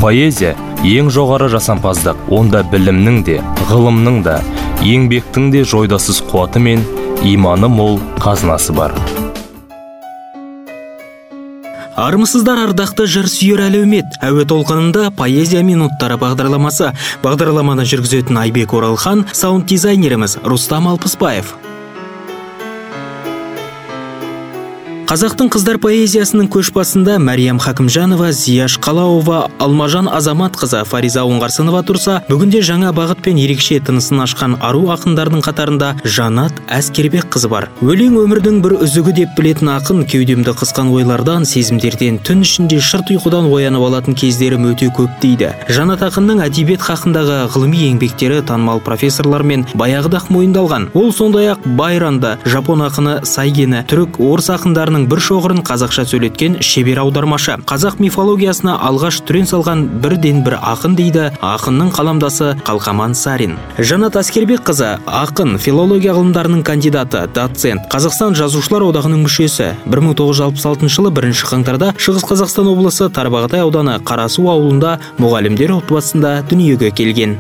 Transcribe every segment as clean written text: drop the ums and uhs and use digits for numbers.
Поэзия ең жоғары жасампаздық, онда білімнің де, ғылымның да, еңбектің де жойдасыз қуаты мен иманы мол қазынасы бар. Армысыздар, ардақты жыр сүйер әлеумет. Әуе толқынында поэзия минуттары бағдарламасы. Бағдарламаны жүргізетін Айбек Оралхан, саунд дизайнеріміз Рустам Алпысбаев. Қазақтың қыздар поэзиясының көшбасында Мәриям Хакімжанова, Зияш Қалауова, Алмажан Азаматқызы, Фариза Оңғарсынова тұрса, бүгінде жаңа бағыт пен ерекше тынысын ашқан ару ақындардың қатарында Жанат Әскербек қызы бар. Өлең өмірдің бір үзігі деп білетін ақын, кеудемді қысқан ойлардан, сезімдерден, түн ішінде шырт ұйқыдан оянып алатын кездерім өте көп дейді. Жанат ақынның әдебиет хақындағы ғылыми еңбектері танымал профессорлар мен баяғыда-ақ мойындалған. Ол сондай-ақ Байранды, жапон ақыны Сайгені, түрік, орыс ақындарының бір шоғырын қазақша сөйлеткен шебер аудармашы. Қазақ мифологиясына алғаш түрен салған бірден бір ақын дейді ақынның қаламдасы Қалқаман Сарин. Жанат Әскербек қызы ақын, филология ғылымдарының кандидаты, доцент, Қазақстан жазушылар одағының мүшесі. 1966 жылы 1 қаңтарда Шығыс Қазақстан облысы Тарбағатай ауданы Қарасу ауылында мұғалімдер отбасында дүниеге келген.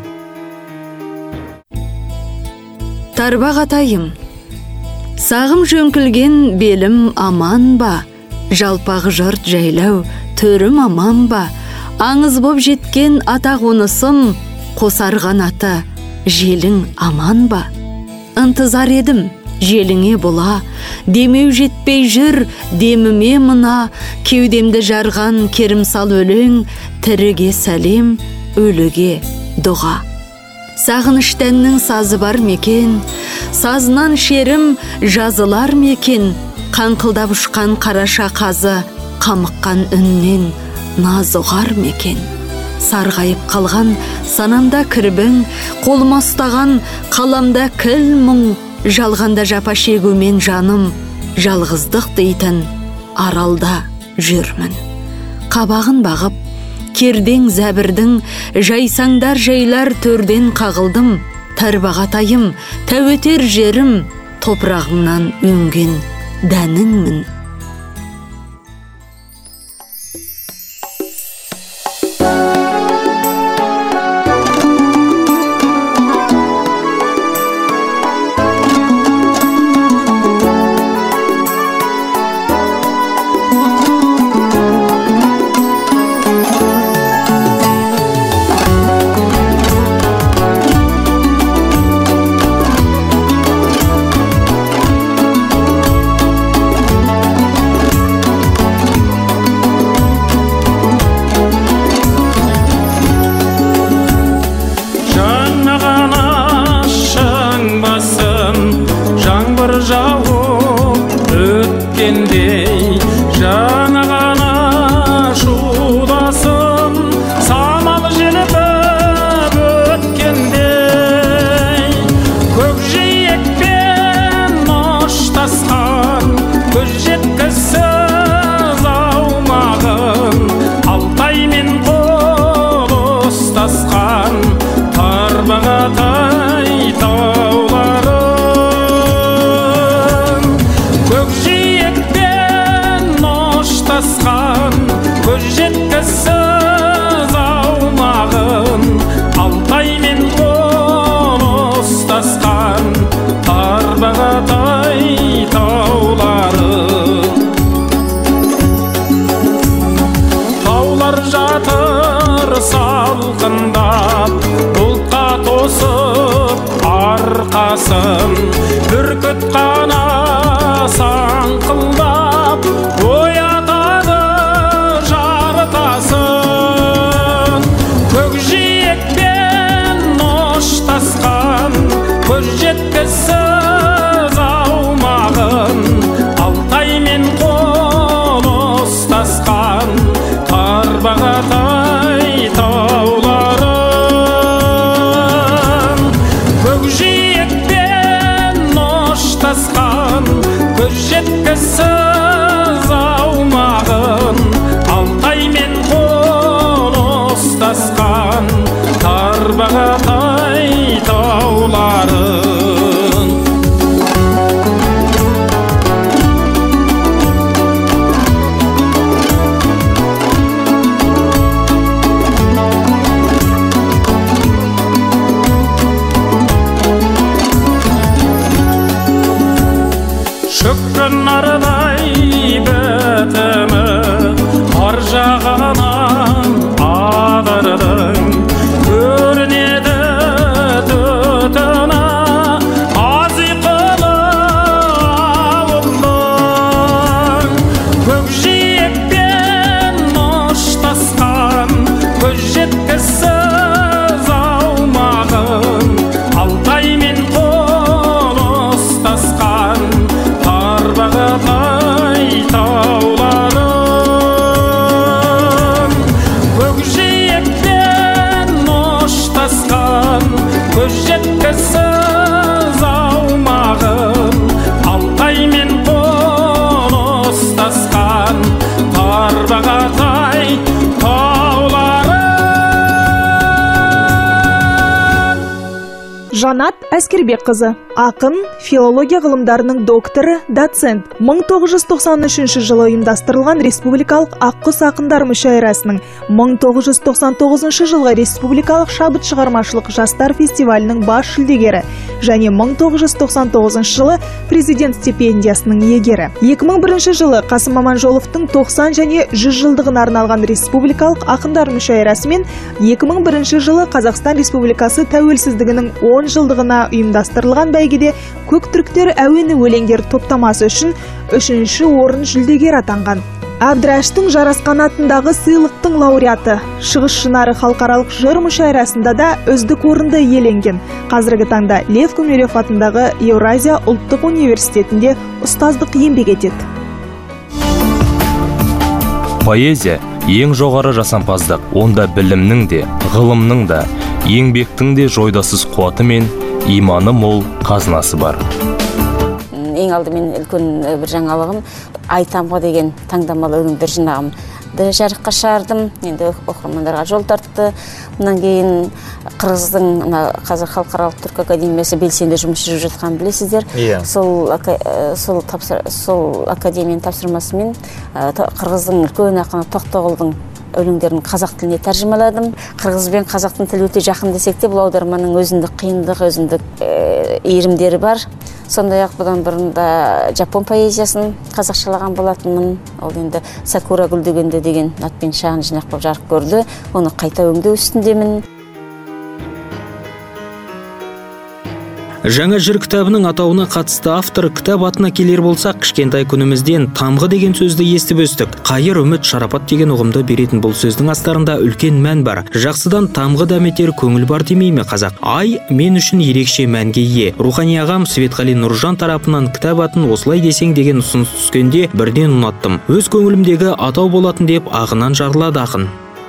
Тарбағатайым, сағым жөңкілген белім аман ба? Жалпақ жұрт жайлау төрім аман ба? Аңыз боп жеткен ата қонысым, қосарған аты желің аман ба? Ынтызар едім желіңе бұла, демеу жетпей жүр деміме мына, кеудемді жарған керімсал өлең, тіріге сәлем, өліге дұға. Сағыныштәннің сазы бар мекен, сазынан шерім жазылар мекен, қаңқылдап ұшқан қараша қазы, қамыққан үннен наз ұғар мекен. Сарғайып қалған санамда кірбің, қолыма ұстаған қаламда кіл мұң, жалғанда жапа шегумен жаным, жалғыздық дейтін аралда жүрмін. Қабағын бағып, кердең зәбірдің, жайсаңдар жайлар төрден қағылдым. Тарбағатайым, тәуетер жерім, топырағыңнан өнген дәніңмін. Бүркіт қана саңқылдап, оятады жарытасын. Көкжиекпен ноштасқан, көз жеткісіз аумағын, Алтай мен қол ұстасқан, Тарбағатай тауларын. Көкжиекпен Жанат Әскербекқызы, ақын, филология ғылымдарының докторы, доцент. 1993 жылы ұйымдастырылған Республикалық Аққұс ақындар мүшәйрасының, 1999 жылғы Республикалық шабыт шығармашылық жастар фестивалінің бас жүлдегері және 1999 жылы президент стипендиясының иегері. 2001 жылы Қасым Аманжоловтың 90 және 100 жылдығына арналған Республикалық ақындар мүшәйрасы мен 2001 жылы Қазақстан Республикасы тәуелсіздігінің 10 жылдығына ұйымдастырылған бәйгеде Көк түріктер әуені өлеңдер топтамасы үшін 3-ші орын жүлдегер атанған. Әбдірәштің жарасқан атындағы сыйлықтың лауреаты, Шығыс Шынары халықаралық жыр мүшәйрасында да үздік орынды иеленген. Қазіргі таңда Лев Гумилев атындағы Еуразия ұлттық университетінде ұстаздық еңбек етеді. Поэзия ең жоғары жасампаздық, онда білімнің де, ғылымның да, еңбектің де жойдасыз қуаты мен иманы мол қазынасы бар. Ең алдымен үлкен бір жаңалығым Айтамға деген таңдамалы өлеңдер жинағымды жарыққа шығардым. Енді оқырмандарға жол тартты. Мұнан кейін Қырғыздың қазір халықаралық түркі академиясы белсенді жұмыс жүргізіп жатқанын білесіздер. Сол академияның тапсырмасымен Қырғыздың үлкен ақыны Тоқтоғұлдың өлеңдерін қазақ тіліне тәржімаладым. Қырғыз бен қазақтың тілі өте жақын десек те, бұл аударманың өзіндік қиындығы, өзіндік иірімдері бар. Сондай-ақ бұдан бұрын да жапон поэзиясын қазақшалаған болатынмын. Ол енді Сакура гүлдегенде деген атпен шағын жинақ болып жарық көрді. Оны қайта өңдеу үстіндемін. Жаңа жыр кітабының атауына қатысты автор кітап атына келер болсақ, кішкентай күнімізден тамғы деген сөзді естіп өстік. Қайыр, үміт, шарапат деген ұғымды беретін бұл сөздің астарында үлкен мән бар. Жақсыдан тамғы дәметер көңіл бар демей ме қазақ? Ай мен үшін ерекше мәнге ие. Рухани ағам Светқали Нұржан тарапынан кітап атын осылай десең деген ұсыныс түскенде бірден ұнаттым. Өз көңілімдегі атау болатын деп ағынан жарылады ақын.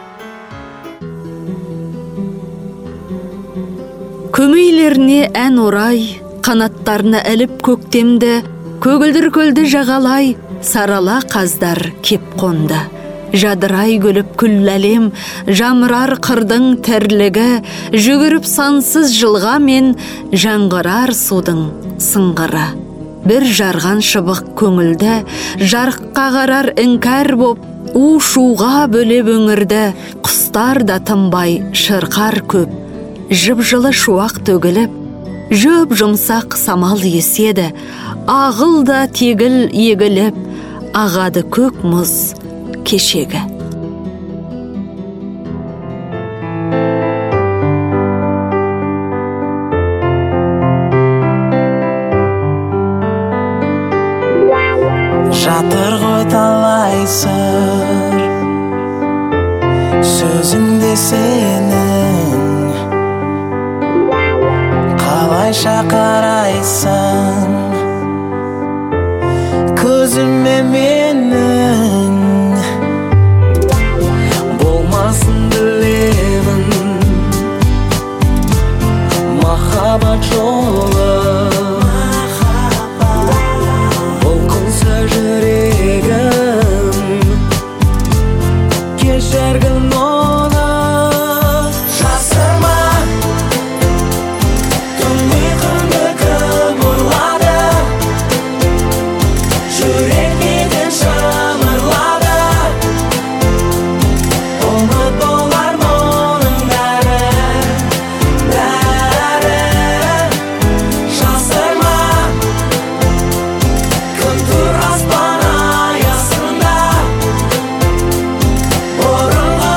Көмейлеріне ән орай, қанаттарына іліп көктемді, көгілдір көлді жағалай, сарала қаздар кеп қонды. Жадырай гүліп күл әлем, жамырар қырдың тірлігі, жүгіріп сансыз жылға мен жаңғырар судың сыңғыры. Бір жарған шыбық көңілді, жарыққа қарар іңкәр боп, у-шуға бөлеп өңірді, құстар да тынбай шырқар көп. Жып-жылы шуақ төгіліп, жөп жұмсақ самал еседі, ағыл да тегіл егіліп, ағады көк мұз кешегі. Жатыр ғой талай сыр, сөзіңде сенің, қалайша қарайсың көзіме менің, болмасын білемін махаббат жолы, бұлқынса жүрегім, кешіргін оны. Жасырма бұрынғы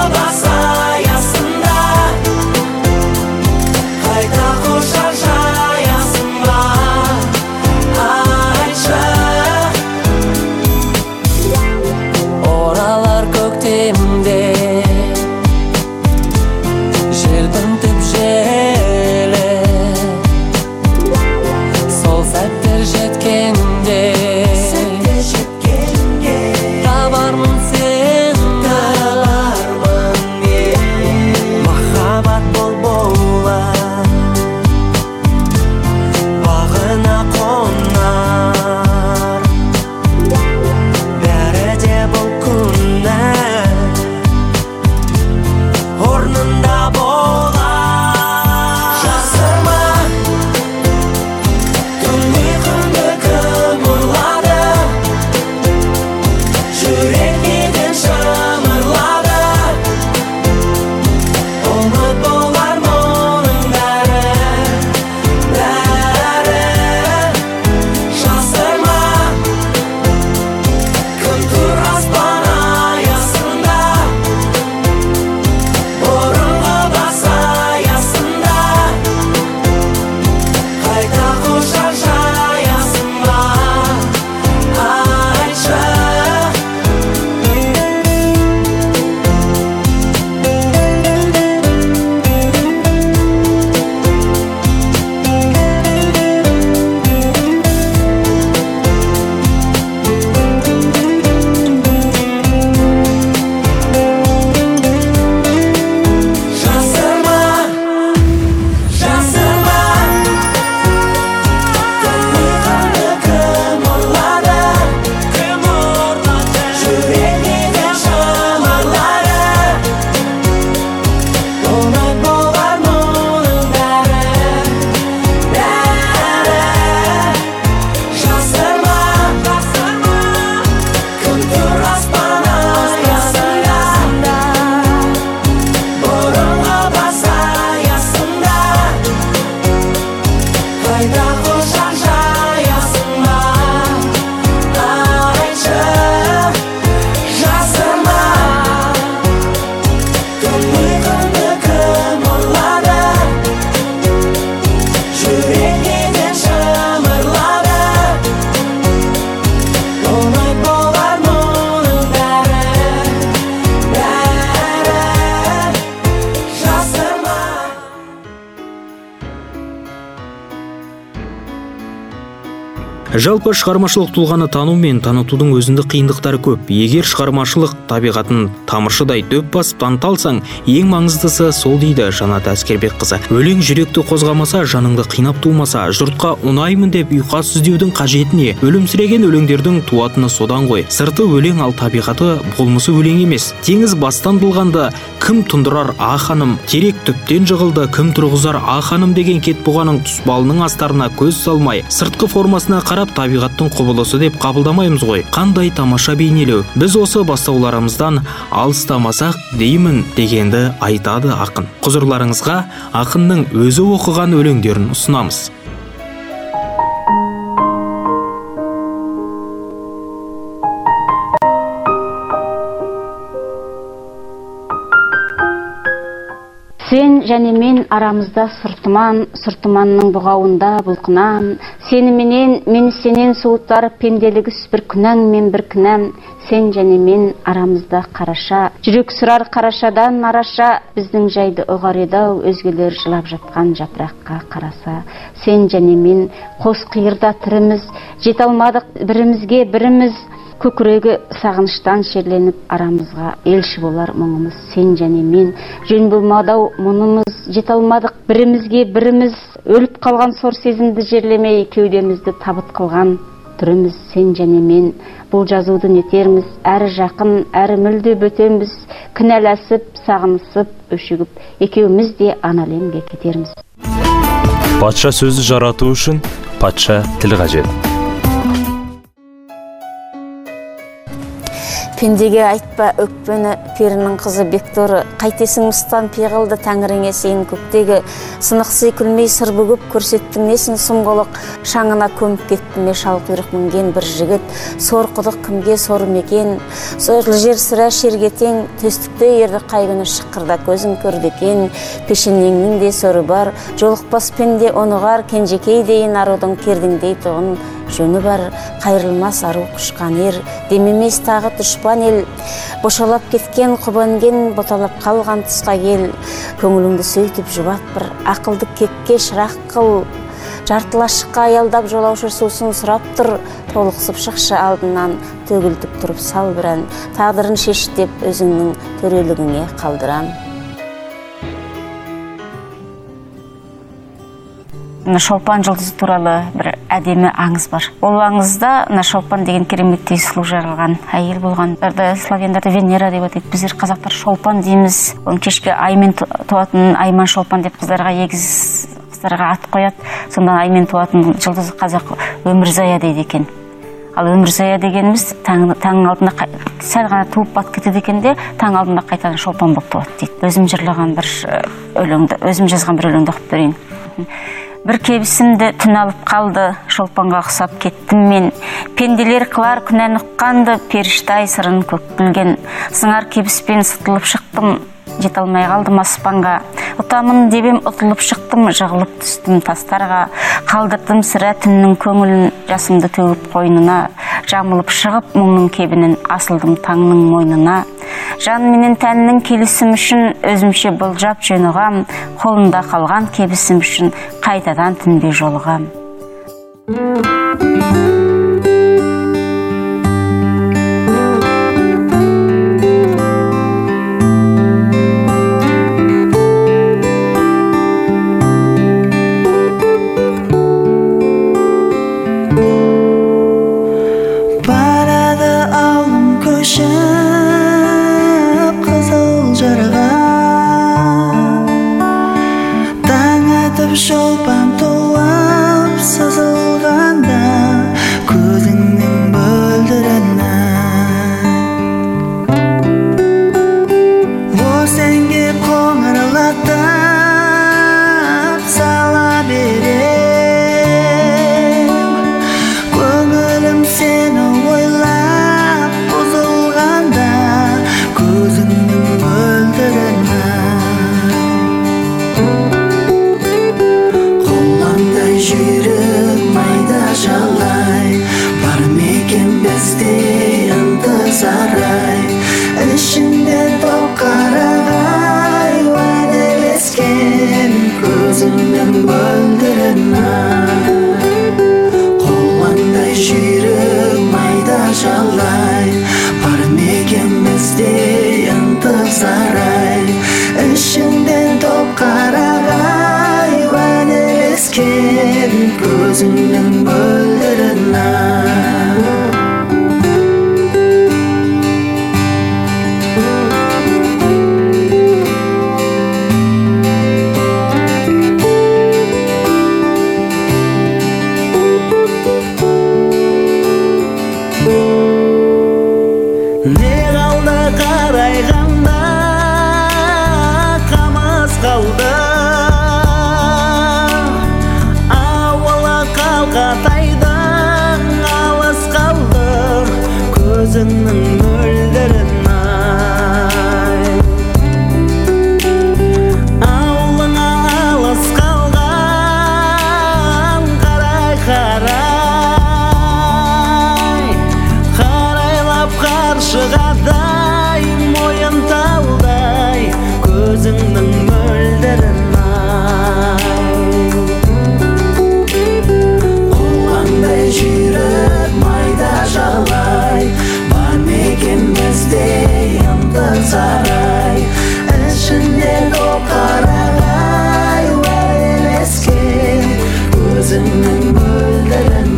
Жалпы шығармашылық тұлғаны тану мен танытудың өзіндік қиындықтары көп. Егер шығармашылық табиғатын тамыршыдай дөп басып таныталсаң, ең маңыздысы сол дейді Жанат Әскербекқызы. Өлең жүректі қозғамаса, жаныңды қинап тумаса, жұртқа ұнаймын деп ұйқас іздеудің қажетіне, өлімсіреген өлеңдердің туатыны содан ғой. Сырты өлең, ал табиғаты болмысы өлең емес. Теңіз бастан болғанда кім тұндырар ханым, терек түптен жығылды, кім тұрғызар ханым деген кетбұғаның тұспалының астарына көз салмай, сыртқы формасына қарап табиғаттың құбылысы деп қабылдамаймыз ғой. Қандай тамаша бейнелеу. Біз осы бастауларымыздан алыстамасақ деймін дегенді айтады ақын. Құзырларыңызға ақынның өзі оқыған өлеңдерін ұсынамыз. Сен және мен арамызда сұртыманның бұғауында бұлқынам. Сені менен, мені сенен суытар пенделігіс бір күнәң мен бір кінәм. Сен және мен арамызда қараша, жүрек сұрар қарашадан араша, біздің жайды ұғар еді-ау, өзгелер жылап жатқан жапыраққа қараса. Сен және мен қос қиырда тіріміз, жете алмадық бірімізге біріміз, көкірегі сағыныштан шерленіп арамызға елші болар мұңымыз. Сен және мен жөн болмадау мұнымыз, жете алмадық бірімізге біріміз, өліп қалған сор сезімді жерлемей кеудемізді табыт қылған түріміз. Сен және мен бұл жазуды нетерміз, әрі жақын, әрі мүлде бөтеміз, кінәласып, сағынысып, өшігіп, екеуміз де аналемге кетерміз. Патша сөзі жарату үшін патша тіл қажет. Пендеге айтпа өкпені перінің қызы Бекторы, қайтесің мұстан пиғылды тәңіріңе сен көктегі, сынықсый күлмей сыр бүгіп көрсеттің несін сұмғылық, шаңына көміп кетті ме шал құйрық мінген бір жігіт, сор құдық кімге сор мекен, сорлы жер сірә шерге тең, төстікте ерді қай күні шыққырда көзің көрді екен, пешенеңнің де соры бар, жолықпас пенде онығар, кенжекей дейін арудың кердіңдей тұғын жөні бар, қайрылмас ару құшқан ер, демемес тағы тұшпан ел, бошалап кеткен құбанген, боталап қалған тұсқа кел, көңіліңді сөйтіп жұбат бір, ақылды кекке шырақ қыл, жартылашыққа аялдап жолаушы сусын сұрап тұр, толықсып шықшы алдынан, төгілтіп тұрып сал бір ән, тағдырын шеш деп өзіңнің төрелігіңе қалдырам. Шолпан жұлдызы туралы бір әдемі аңыз бар. Ол аңызда Шолпан деген кереметтей сұлу жаралған әйел болған. Славяндарда Венера деп атайды. Біздер қазақтар Шолпан дейміз. Оның кешке аймен туатын Айман Шолпан деп қыздарға егіз қыздарға ат қояды. Сонда аймен туатын жұлдызы қазақ Өмірзая дейді екен. Ал Өмірзая дегеніміз таң алдында сәл ғана туып батып кетеді екен де, таң алдында қайтадан Шолпан болып туады дейді. Өзім жырлаған бір өлеңді, өзім жазған бір өлеңді оқып берейін. Бір кебісімді түн алып қалды, Шолпанға ұқсап кеттім мен. Пенделер қылар күнәні ұққанды, періштай сырын көк білген. Сыңар кебіспен сытылып шықтым, жете алмай қалдым аспанға. Ұтамын дебем ұтылып шықтым, жығылып түстім тастарға. Қалдырдым сірә түннің көңілін, жасымды төгіп қойнына. Жамылып шығып мұңның кебінін, асылдым таңның мойнына. Жан менен тәннің келісім үшін өзімше бұлжап жөнұғам, қолында қалған кебісім үшін қайтадан түнге жолығам. Барады ауылым көшіп қызыл жарға, таң атып шолпан туып сызылғанда, сарай, ішіңден топ қарағай, уәделескен көзіңнің мөлдірін көзіңнің мөлдірін ауылыңа алыс қалған қарай қарайлап қаршығадай мойын талдай көзіңнің мөлдірін қолаңдай жүріп майда жалай бізде ынтық сарай, ішінде топ қарағай, уәделескен көзіңнің мөлдірін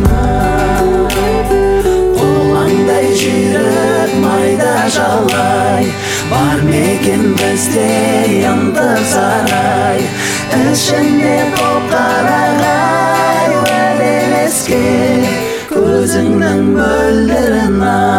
қолаңдай жүріп майда жалай, бар мекен бізде ынтық сарай, ішінде топ қарағай, уәделескен көзіңнің мөлдірін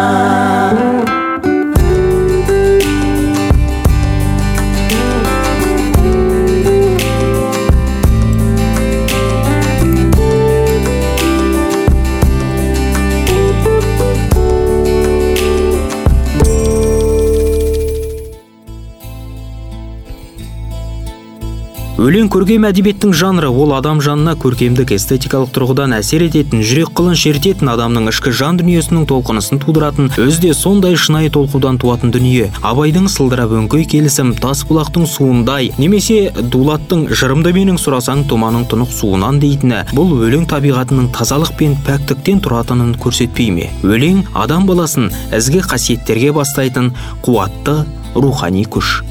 Өлең көркем әдебиеттің жанры, ол адам жанына көркемдік эстетикалық тұрғыдан әсер ететін, жүрек қылын шертетін, адамның ішкі жан дүниесінің толқынысын тудыратын, өзде сондай шынайы толқудан туатын дүние. Абайдың сылдырап өңкей келісім, тас бұлақтың суындай, немесе Дулаттың жырымды менің сұрасаң томаның тұнық суынан дейтіні, бұл өлең табиғатының тазалық пен пәктіктен тұратынын көрсетпей ме? Өлең адам баласын ізгі қасиеттерге бастайтын қуатты рухани күш.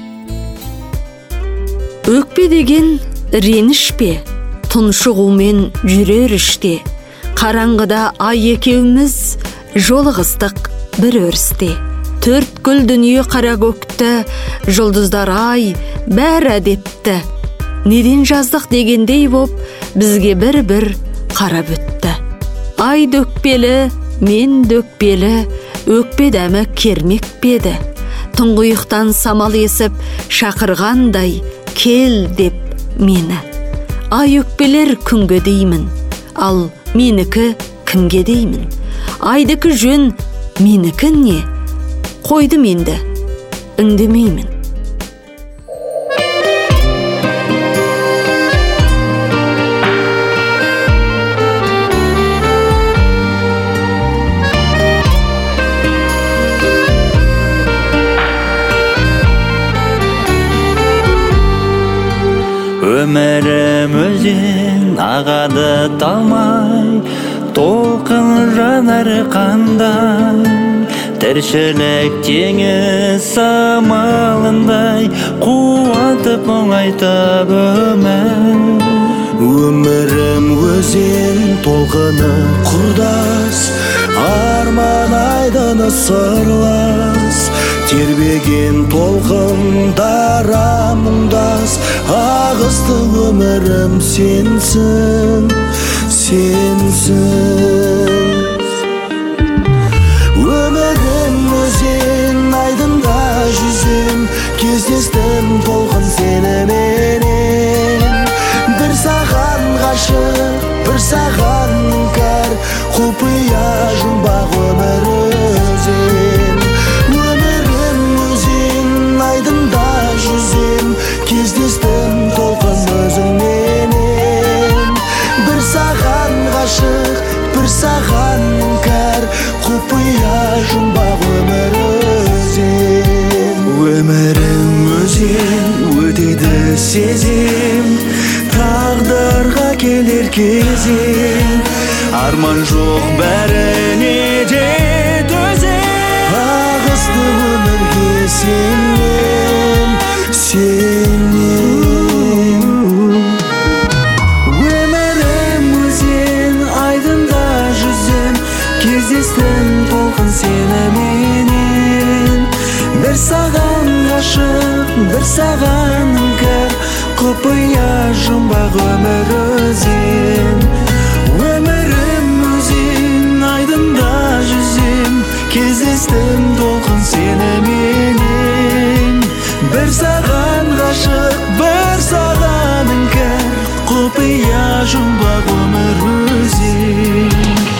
Өкпе деген реніш пе, тұншығумен жүрер іште, қараңғыда ай екеуміз жолығыстық бір өрісте. Төрткүл дүние қара көкті, жұлдыздар ай бәрі әдепті. Неден жаздық дегендей боп, бізге бір-бір қарап өтті. Ай дөкпелі, мен дөкпелі, өкпе дәмі кермек педі. Тұңғиықтан самал есіп, шақырғандай кел деп мені. Ай өкпелер күнге деймін, ал менікі кімге деймін. Айдікі жөн, менікі не? Қойдым енді, үндемеймін. Өмірім өзен ағады талмай, толқын жанар қандай, тіршілік теңіз самалындай, қуатып оңайтып өмір. Өмірім өзен толқыны құрдас, арман айдыны сырлас, тербеген толқындара мұңдас, ағысты өмірім сенсің, сенсің. Өмірім өзен айдында жүзем, кездестім толқын сеніменен. Бір саған ғашық, бір саған кәр, құпия жұмбақ өмір өзен. Өмірім өзен айдында жүзем, кездестім толқын өзіңменен. Бір саған ғашық, бір саған кәр, құпия жұмбақ өмір өзен. Өмірім өзен өтеді сезем, тағдырға келер кезең, арман жоқ бәріне де төзем. Ағысты өмірге сенме, бір саған іңкәр құпия жұмбақ өмір өзен. Өмірім өзен, айдында жүзем, кездестім толқын сені менен. Бір саған ғашық, бір саған іңкәр құпия жұмбақ өмір өзен.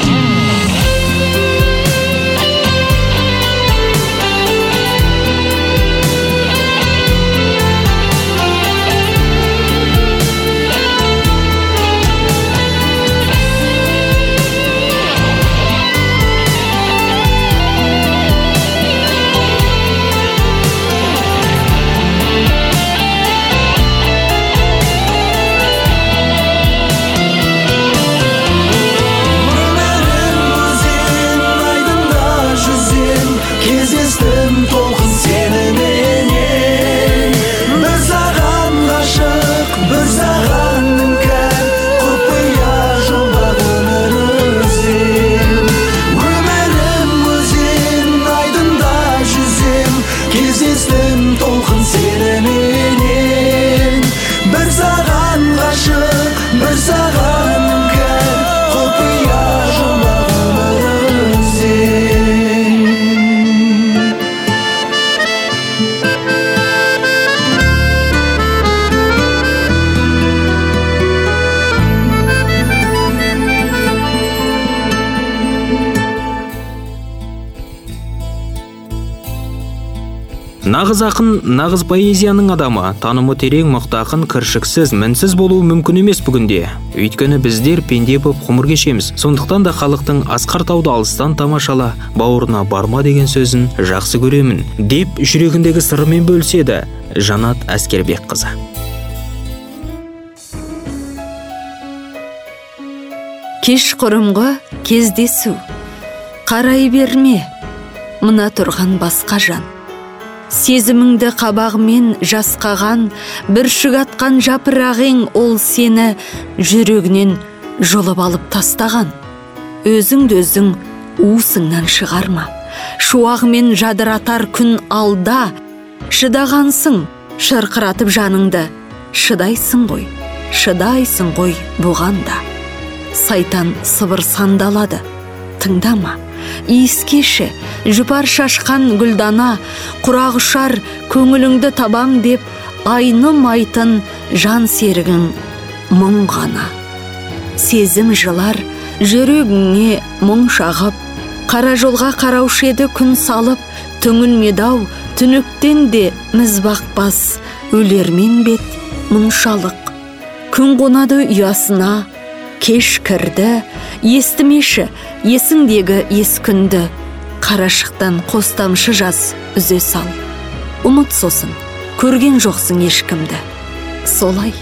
Нағыз ақын, нағыз поэзияның адамы, танымы терең, мықты ақын кіршіксіз, мінсіз болуы мүмкін емес бүгінде. Өйткені біздер пенде боп ғұмыр кешеміз. Сондықтан да халықтың асқар тауды алыстан тамашала, бауырына барма деген сөзін жақсы көремін, деп жүрегіндегі сырымен бөліседі Жанат Әскербекқызы. Кеш құрымғы кездесу, қарай берме, мына тұрған басқа жан. Сезіміңді қабағымен жасқаған, бүршік атқан жапырағың ол сені жүрегінен жұлып алып тастаған. Өзіңді өзің уысыңнан шығарма, шуағымен жадыратар күн алда. Шыдағансың, шырқыратып жаныңды, шыдайсың ғой бұғанда. Сайтан сыбыр сандалады, тыңдама. Иіскеші, жұпар шашқан гүлдана, құрақ ұшар көңіліңді табам деп, айнымайтын жан серігің мұң ғана. Сезім жылар жүрегіңе мұң шағып, қара жолға қараушы еді күн салып, түңілмедау түніктен де міз бақпас, өлермен бет мұншалық. Күн қонады ұясына, кеш кірді, естімеші есіңдегі ес күнді. Қарашықтан қос тамшы жас үзе сал. Ұмыт сосын, көрген жоқсың ешкімді. Солай.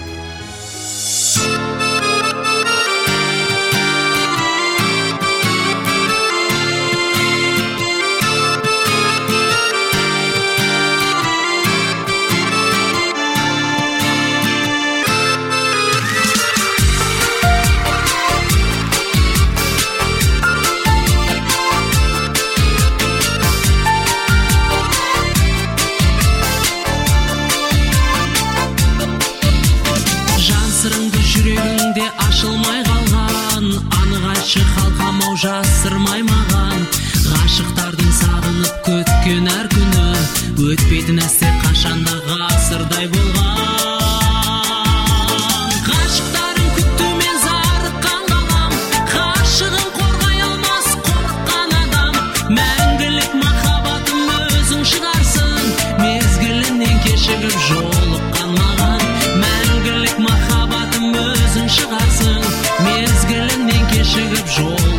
Жасырмай маған ғашықтардың сағынып көткен әр күні, өтпеді нәрсе қашанда ғасырдай болған. Ғашықтарын күтумен зарыққан ғалам, ғашығын қорғай алмас қорыққан адам. Мәңгілік махаббатым өзің шығарсың, мезгілінен кешігіп жолыққан маған. Мәңгілік махаббатым өзің шығарсың, мезгілінен кешігіп жолыққан.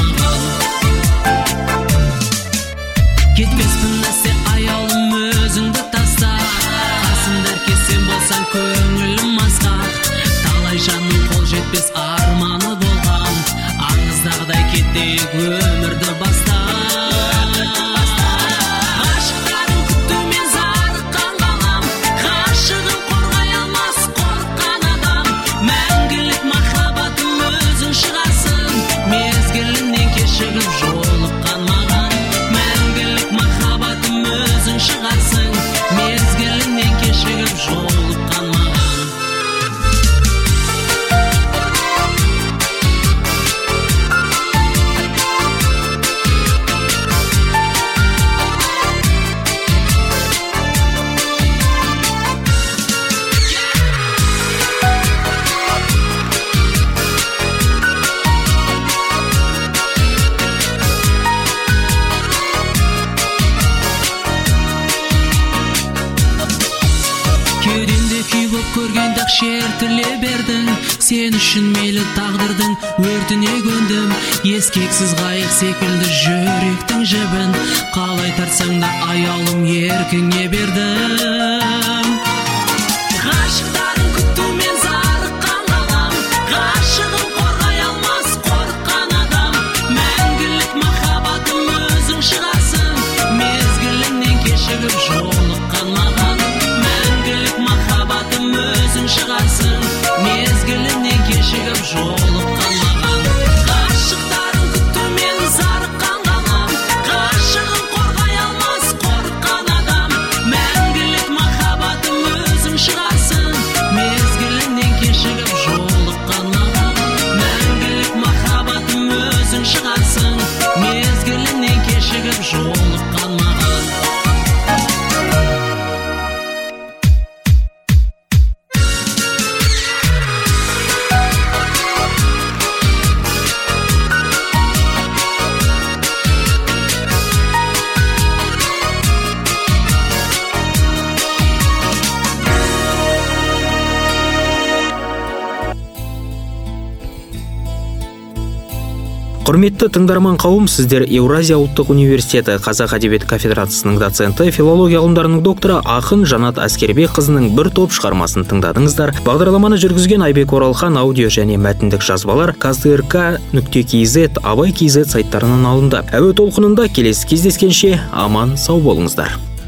Кетпеспін нәрсе аяулым өзіңді таста, қасымда әркесен болсаң көңілім асқақ. Талай жанның қол жетпес арманы болған, аңыздағыдай кетейік өмірді баста. Ғашықтарын күтумен зарыққан ғалам, ғашығын қорғай алмас қорыққан адам. Мәңгілік махаббат күй боп көргенде ақ шертіле бердің. Сен үшін мейлі тағдырдың өртіне көндім. Ескексіз қайық секілді жүректің жібін, қалай тартсаң да аялым еркіңе бердім. Ғашықтарын күтумен зарыққан ғалам, ғашығын қорғай алмас қорыққан адам. Мәңгілік махаббатым өзің шығарсың, мезгіліңнен кешігіп жолыққан маған. Мәңгілік махаббатым өзің шығарсың, мезгіліңнен кешігіп жолыққан маған. Ғашықтарын күтумен зарыққан ғалам, ғашығын қорғай алмас қорыққан адам. Мәңгілік махаббатым өзің шығарсың, мезгіліңнен кешігіп жолыққан маған. Мәңгілік махаббатым өзің шығарсың, мезгіліңнен кешігіп жолыққан маған. Құрметті тыңдарман қауым, сіздер Еуразия ұлттық университеті Қазақ әдебиет кафедрасының доценті, филология ғылымдарының докторы ақын Жанат Әскербекқызының бір топ шығармасын тыңдадыңыздар. Бағдарламаны жүргізген Айбек Оралхан, аудио және мәтіндік жазбалар KZRK.kz, Абай.kz сайттарынан алынды. Әуе толқынында келесі кездескенше аман сау болыңыздар.